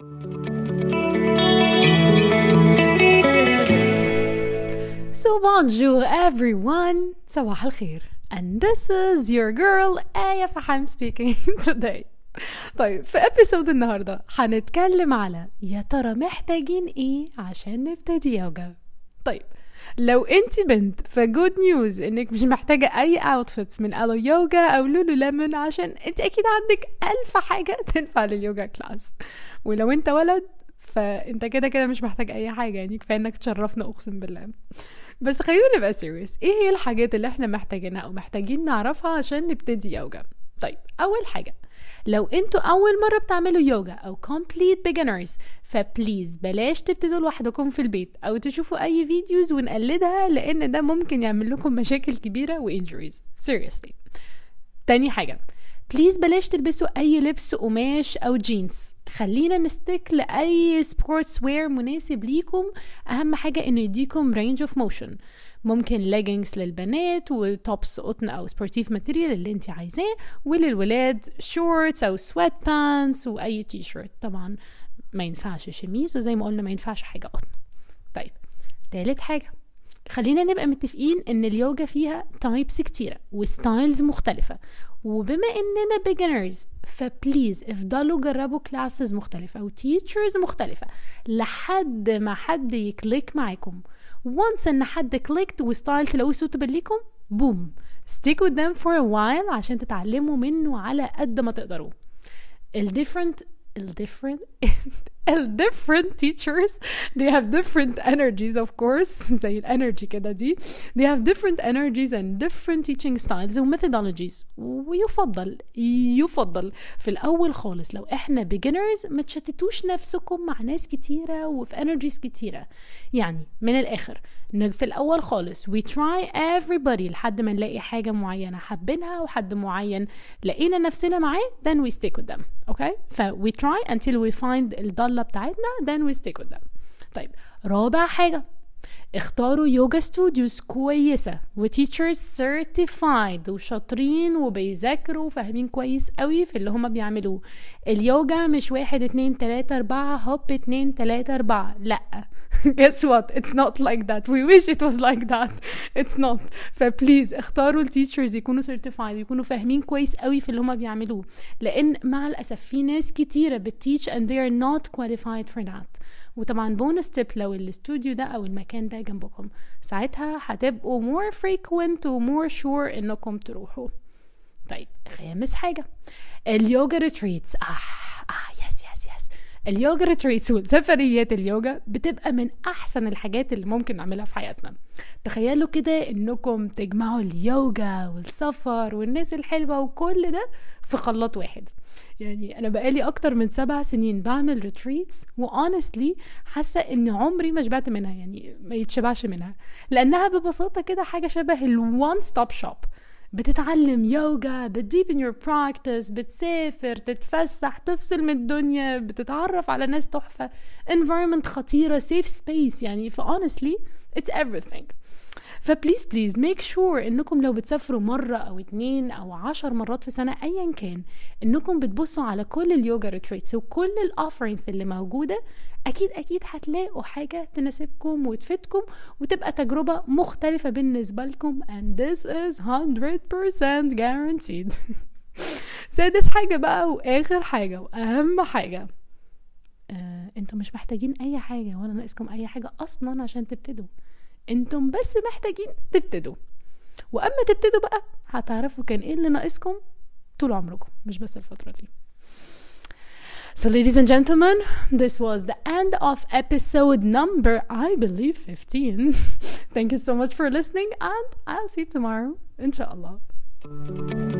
So bonjour everyone, صباح الخير, and this is your girl آية فحام speaking today. طيب في ابيسود النهاردة هنتكلم على يا ترى محتاجين ايه عشان نبتدي يوجا. طيب لو انت بنت فجود نيوز انك مش محتاجة اي اوتفيتس من الو يوجا او لولو ليمون, عشان انت اكيد عندك 1000 حاجة تنفع لليوجا كلاس. ولو انت ولد فانت كده مش محتاج اي حاجة, يعني كفاية انك تشرفنا اقسم بالله. بس خلينا نبقى سيريس, ايه هي الحاجات اللي احنا محتاجينها او محتاجين نعرفها عشان نبتدي يوجا؟ طيب اول حاجة, لو انتوا اول مرة بتعملوا يوجا او complete beginners فبليز بلاش تبتدوا لوحدكم في البيت او تشوفوا اي فيديوز ونقلدها, لان ده ممكن يعمل لكم مشاكل كبيرة وانجريز seriously. تاني حاجة, بليز بلاش تلبسوا اي لبس قماش او جينز, خلينا نستيك لاي سبورتس وير مناسب ليكم. اهم حاجة انه يديكم رينج اوف موشن, ممكن leggings للبنات وتوبس قطن او سبورتيف ماتيريال اللي انت عايزاه, وللولاد شورتس او سويت بانس واي تي شيرت. طبعا ما ينفعش شميز, وزي ما قلنا ما ينفعش حاجة قطن. طيب تالت حاجة, خلينا نبقى متفقين ان اليوجا فيها تايبس كتيرة وستايلز مختلفة, وبما اننا beginners فبليز افضلوا جربوا كلاسز مختلفة وتيتشرز مختلفة لحد ما حد يكليك معاكم. once ان حد كليكت وستايل تلاقوه suitable ليكم, بوم, stick with them for a while عشان تتعلموا منه على قد ما تقدروا. different teachers they have different energies of course, زي الانرجي كده دي, they have different energies and different teaching styles و methodologies. ويفضل في الاول خالص لو احنا beginners ما تشتتوش نفسكم مع ناس كتيرة وفي energies كتيرة. يعني من الاخر في الاول خالص we try everybody لحد ما نلاقي حاجة معينة حابينها وحد معين لقينا نفسنا معاه, then we stick with them. okay, ف we try until we find الضالة بتاعتنا, then we stick with them. طيب رابع حاجة, اختاروا يوجا ستوديوز كويسة وتيتشرز certified وشاطرين وبيذاكروا وفاهمين كويس قوي في اللي هما بيعملوه. اليوجا مش 1 2 3 4 هوب 2 3 4, لا. guess what, it's not like that, we wish it was like that, it's not. فبليز اختاروا التيتشرز يكونوا certified, يكونوا فاهمين كويس قوي في اللي هما بيعملوه, لان مع الاسف في ناس كتيرة بتتيتش and they are not qualified for that. وطبعا بونس تيب, لو الاستوديو ده او المكان ده جنبكم ساعتها هتبقوا more frequent و more sure انكم تروحوا. طيب خامس حاجة, اليوجا ريتريتس. يس اليوجا ريتريتس والسفريات اليوجا بتبقى من احسن الحاجات اللي ممكن نعملها في حياتنا. تخيلوا كده انكم تجمعوا اليوجا والسفر والناس الحلوة وكل ده في خلاط واحد. يعني انا بقالي اكتر من 7 سنين بعمل ريتريتس, وهونستلي حاسه ان عمري ما شبعت منها, يعني ما يتشبعش منها, لانها ببساطه كده حاجه شبه الوان ستوب شوب. بتتعلم يوجا, بتديبن يور براكتس, بتسافر, تتفسح, تفصل من الدنيا, بتتعرف على ناس تحفه, environment خطيره, safe space. يعني honestly it's everything. فبليز make sure انكم لو بتسافروا مرة او 2 او 10 مرات في سنة ايا كان, انكم بتبصوا على كل اليوجا ريتريتس وكل الاوفرينجز اللي موجودة. اكيد هتلاقوا حاجة تناسبكم وتفيدكم وتبقى تجربة مختلفة بالنسبة لكم, and this is 100% guaranteed. سادس حاجة بقى واخر حاجة واهم حاجة, انتم مش محتاجين اي حاجة ولا ناقصكم اي حاجة اصلا عشان تبتدوا, انتم بس محتاجين تبتدوا. واما تبتدوا بقى هتعرفوا كان ايه اللي ناقصكم طول عمركم, مش بس الفترة دي. So ladies and gentlemen, this was the end of episode number, I believe, 15. Thank you so much for listening, and I'll see you tomorrow, inshallah.